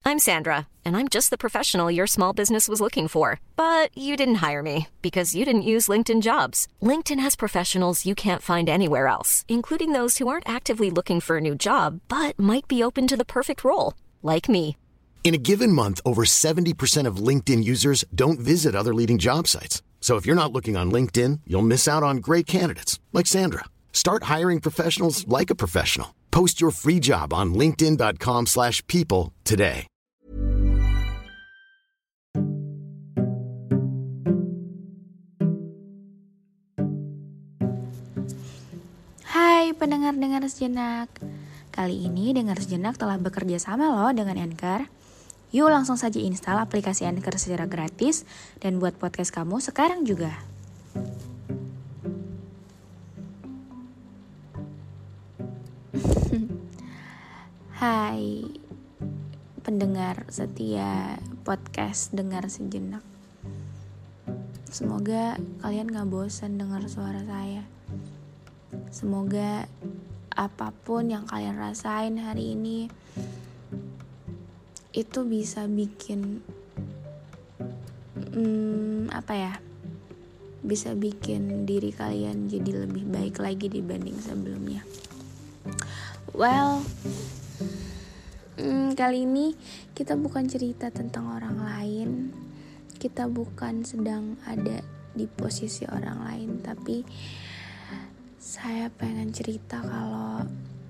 I'm Sandra, and I'm just the professional your small business was looking for. But you didn't hire me because you didn't use LinkedIn Jobs. LinkedIn has professionals you can't find anywhere else, including those who aren't actively looking for a new job, but might be open to the perfect role, like me. In a given month, over 70% of LinkedIn users don't visit other leading job sites. So if you're not looking on LinkedIn, you'll miss out on great candidates like Sandra. Start hiring professionals like a professional. Post your free job on linkedin.com/people today. Hai pendengar-dengar sejenak. Kali ini Dengar Sejenak telah bekerja sama loh dengan Anchor. Yuk langsung saja install aplikasi Anchor secara gratis dan buat podcast kamu sekarang juga. Hai pendengar setia podcast Dengar Sejenak. Semoga kalian gak bosan dengar suara saya. Semoga apapun yang kalian rasain hari ini itu bisa bikin bisa bikin diri kalian jadi lebih baik lagi dibanding sebelumnya. Well, kali ini kita bukan cerita tentang orang lain. Kita bukan sedang ada di posisi orang lain, tapi saya pengen cerita kalau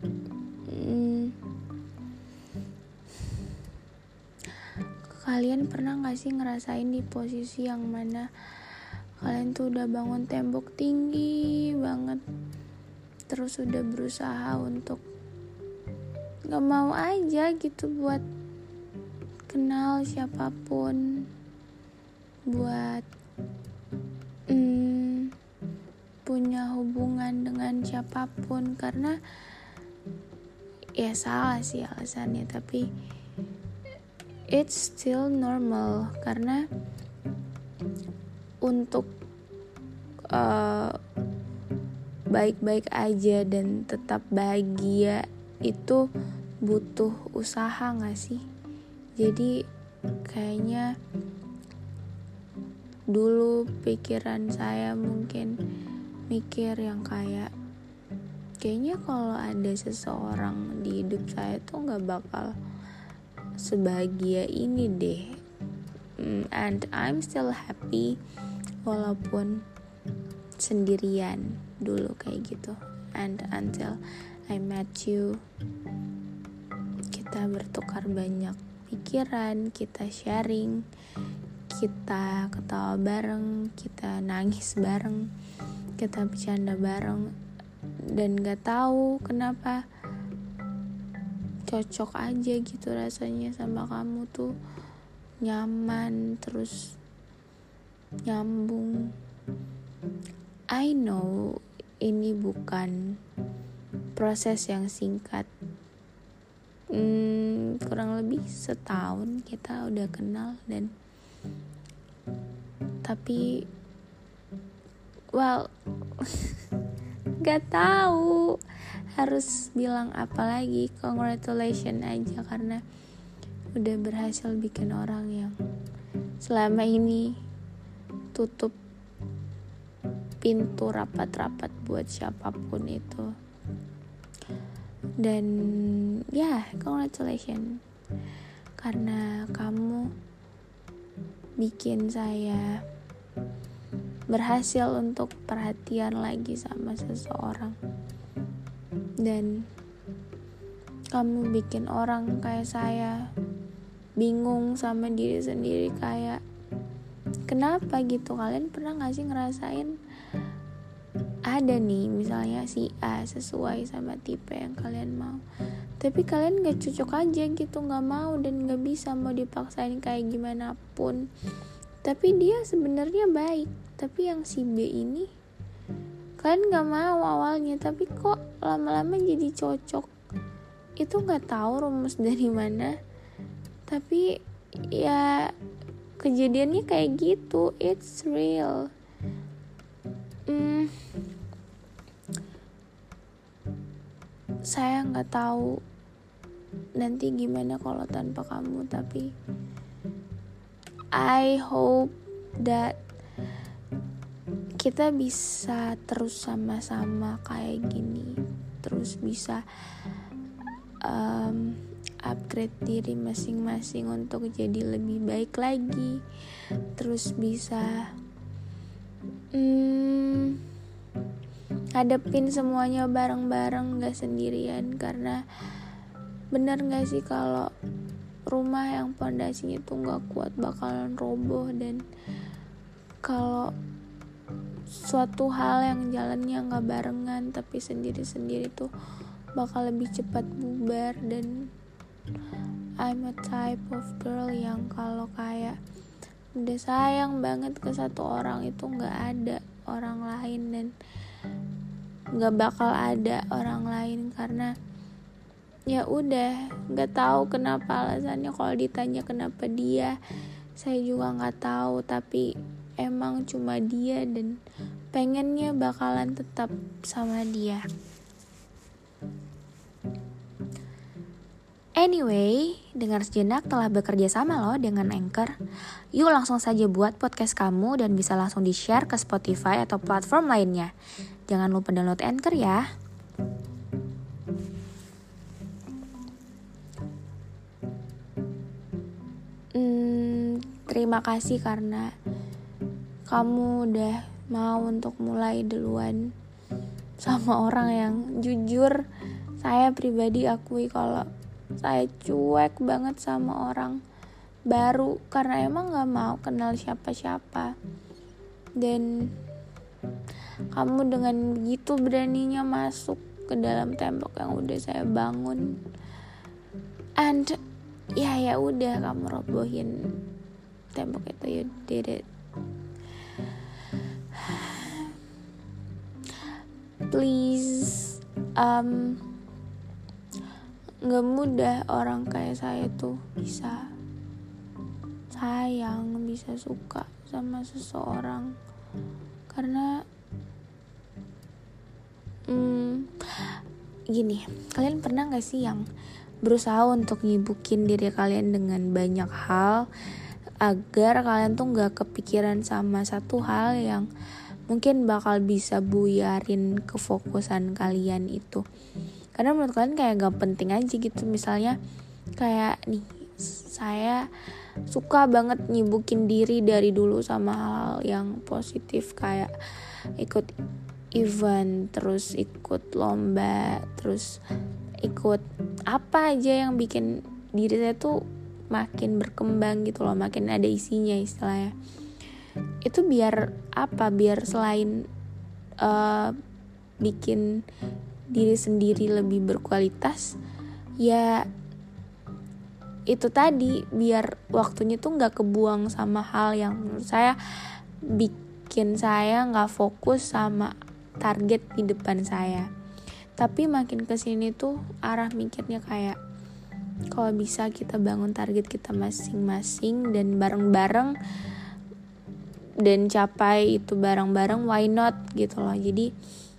kalian pernah gak sih ngerasain di posisi yang mana kalian tuh udah bangun tembok tinggi banget, terus udah berusaha untuk gak mau aja gitu buat kenal siapapun, buat punya hubungan dengan siapapun, karena ya salah sih alasannya, tapi it's still normal. Karena untuk baik-baik aja dan tetap bahagia itu butuh usaha gak sih? Jadi kayaknya dulu pikiran saya mungkin mikir yang kayaknya kalau ada seseorang di hidup saya tuh gak bakal sebahagia ini deh. And I'm still happy walaupun sendirian dulu kayak gitu. And until I met you, kita bertukar banyak pikiran, kita sharing, kita ketawa bareng, kita nangis bareng, kita bercanda bareng, dan gak tahu kenapa cocok aja gitu rasanya sama kamu tuh, nyaman terus nyambung. I know ini bukan proses yang singkat, kurang lebih setahun kita udah kenal, dan tapi gak tahu harus bilang apa lagi. Congratulations aja karena udah berhasil bikin orang yang selama ini tutup pintu rapat-rapat buat siapapun itu. Dan congratulations karena kamu bikin saya berhasil untuk perhatian lagi sama seseorang, dan kamu bikin orang kayak saya bingung sama diri sendiri, kayak kenapa gitu. Kalian pernah gak sih ngerasain ada nih misalnya si A sesuai sama tipe yang kalian mau, tapi kalian gak cocok aja gitu, gak mau dan gak bisa, mau dipaksain kayak gimana pun. Tapi dia sebenarnya baik, tapi yang si B ini kalian gak mau awalnya, tapi kok lama-lama jadi cocok. Itu gak tahu rumus dari mana, tapi ya kejadiannya kayak gitu. It's real. Saya gak tahu nanti gimana kalau tanpa kamu, tapi I hope that kita bisa terus sama-sama kayak gini, terus bisa upgrade diri masing-masing untuk jadi lebih baik lagi, terus bisa hadapin semuanya bareng-bareng, gak sendirian. Karena bener gak sih kalau rumah yang pondasinya tuh gak kuat bakalan roboh, dan kalau suatu hal yang jalannya gak barengan tapi sendiri-sendiri tuh bakal lebih cepat bubar. Dan I'm a type of girl yang kalau kayak udah sayang banget ke satu orang itu gak ada orang lain, dan gak bakal ada orang lain. Karena ya udah, gak tahu kenapa alasannya. Kalau ditanya kenapa dia, saya juga gak tahu, tapi emang cuma dia, dan pengennya bakalan tetap sama dia. Anyway, dengar sejenak telah bekerja sama loh dengan Anchor. Yuk langsung saja buat podcast kamu dan bisa langsung di-share ke Spotify atau platform lainnya. Jangan lupa download Anchor ya. Terima kasih karena kamu udah mau untuk mulai duluan sama orang yang jujur saya pribadi akui kalau saya cuek banget sama orang baru, karena emang gak mau kenal siapa-siapa. Dan kamu dengan begitu beraninya masuk ke dalam tembok yang udah saya bangun, and ya udah, kamu robohin tembok itu. You did it. Please, gak mudah orang kayak saya tuh bisa sayang, bisa suka sama seseorang. Karena gini, kalian pernah gak sih yang berusaha untuk nyibukin diri kalian dengan banyak hal agar kalian tuh gak kepikiran sama satu hal yang mungkin bakal bisa buyarin kefokusan kalian itu? Karena menurut kalian kayak gak penting aja gitu. Misalnya kayak nih, saya suka banget nyibukin diri dari dulu sama hal yang positif, kayak ikut event, terus ikut lomba, terus ikut apa aja yang bikin diri saya tuh makin berkembang gitu loh, makin ada isinya istilahnya. Itu biar apa? Biar selain bikin diri sendiri lebih berkualitas, ya itu tadi, biar waktunya tuh gak kebuang sama hal yang menurut saya bikin saya gak fokus sama target di depan saya. Tapi makin kesini tuh arah mikirnya kayak kalau bisa kita bangun target kita masing-masing dan bareng-bareng, dan capai itu bareng-bareng, why not gitu loh. Jadi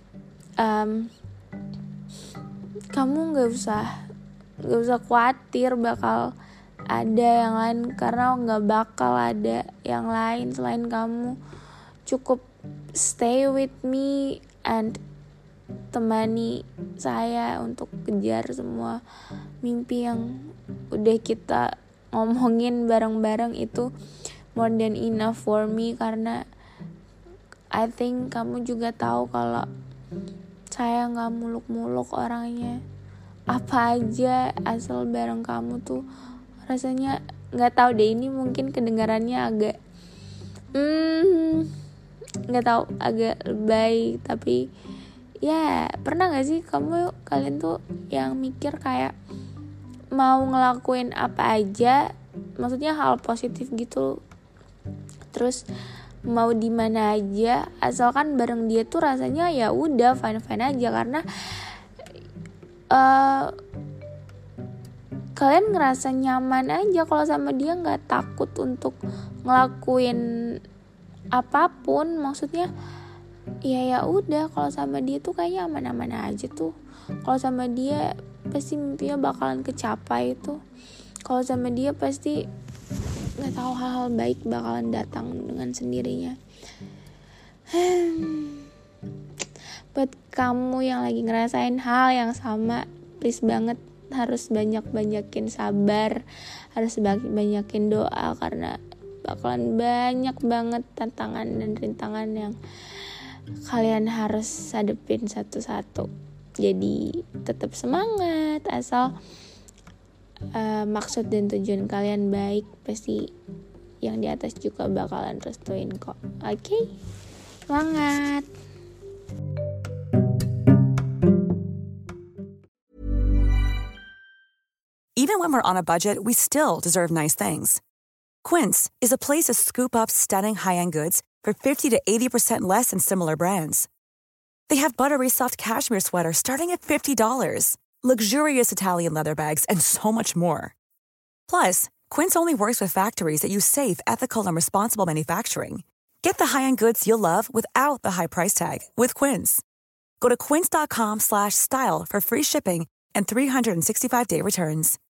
kamu gak usah khawatir bakal ada yang lain, karena gak bakal ada yang lain selain kamu. Cukup stay with me and temani saya untuk kejar semua mimpi yang udah kita ngomongin bareng-bareng. Itu more than enough for me, karena I think kamu juga tahu kalau saya gak muluk-muluk orangnya. Apa aja asal bareng kamu tuh rasanya, gak tahu deh, ini mungkin kedengarannya agak gak tahu, agak lebay, tapi ya pernah gak sih kalian tuh yang mikir kayak mau ngelakuin apa aja, maksudnya hal positif gitu, terus mau di mana aja asalkan bareng dia tuh rasanya ya udah fine aja. Karena kalian ngerasa nyaman aja kalau sama dia, nggak takut untuk ngelakuin apapun. Maksudnya ya udah, kalau sama dia tuh kayaknya aman-aman aja tuh. Kalau sama dia pasti mimpinya bakalan kecapai itu. Kalau sama dia pasti nggak tahu hal-hal baik bakalan datang dengan sendirinya. Buat kamu yang lagi ngerasain hal yang sama, please banget harus banyak-banyakin sabar, harus banyakin doa, karena bakalan banyak banget tantangan dan rintangan yang kalian harus hadepin satu-satu. Jadi tetap semangat, asal maksud dan tujuan kalian baik, pasti yang di atas juga bakalan restuin kok. Oke? Semangat. Even when we're on a budget, we still deserve nice things. Quince is a place to scoop up stunning high-end goods for 50 to 80% less than similar brands. They have buttery soft cashmere sweaters starting at $50, luxurious Italian leather bags, and so much more. Plus, Quince only works with factories that use safe, ethical, and responsible manufacturing. Get the high-end goods you'll love without the high price tag with Quince. Go to quince.com/style for free shipping and 365-day returns.